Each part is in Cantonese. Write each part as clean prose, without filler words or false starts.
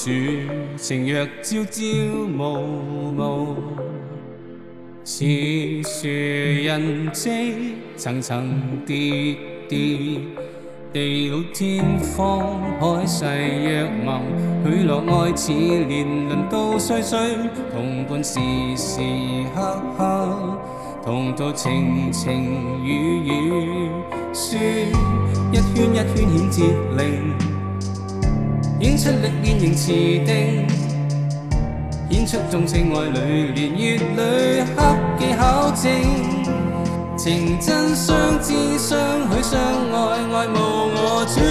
主，情若朝朝暮暮。似樹人迹，層層疊疊，地老天荒，海誓約盟，許諾愛似年輪到歲歲，同伴時時刻刻，同途情情雨雨，書一圈一圈顯節令，顯出歷練仍持定。顯出重情愛侶，年月裏刻記考證，情真相知相許相愛，愛慕我主。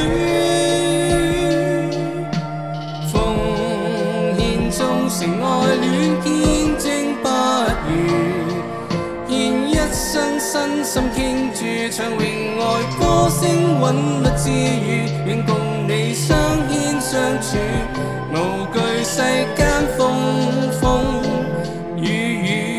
奉獻忠誠愛戀，見證不渝，獻一生身心傾注，唱詠愛歌聲韻律自如，願共你相牽相處，無懼世間風風雨雨。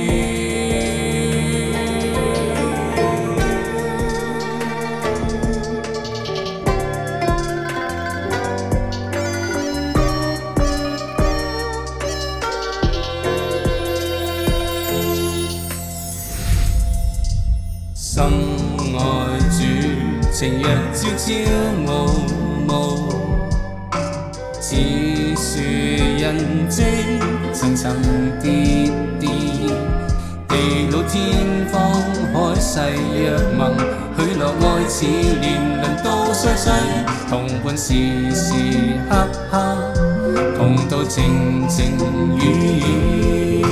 深愛主，情若朝朝暮暮，似樹人迹，層層疊疊，地老天荒，海誓約盟，許諾愛似年輪到歲歲，同伴時時刻刻，同渡情情雨雨。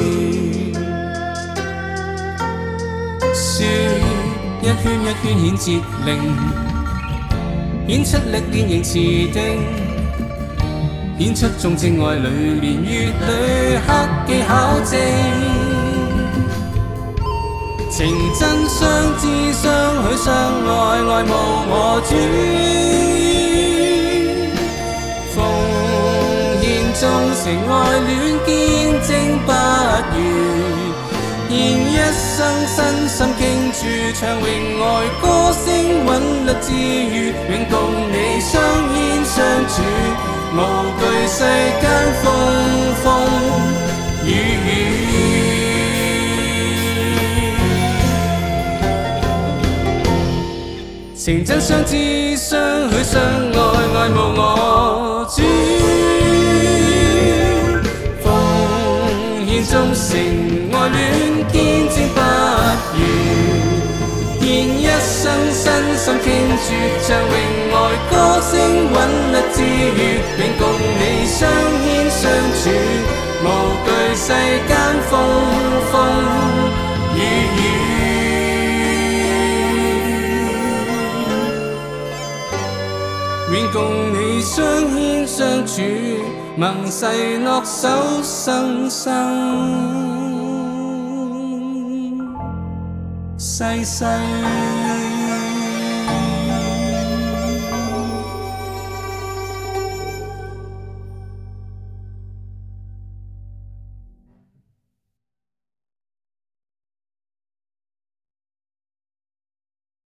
書一圈一圈顯節令，顯出歷練仍持定。顯出重情愛侶，年月裏刻記考證，情真相知相許相愛，愛慕我主。奉獻忠誠愛戀，見證不渝，獻一生身心傾注，唱詠愛歌聲韻律自如，願共你相牽相處，無懼世間風風雨雨。情真相知相許相愛，愛慕我主。奉獻忠誠愛戀，見證不渝，獻一生身心傾注，唱詠愛歌聲韻律自如，願共你相牽相處，無懼世間風風雨雨。願共你相牽相處，盟誓諾守生生世世。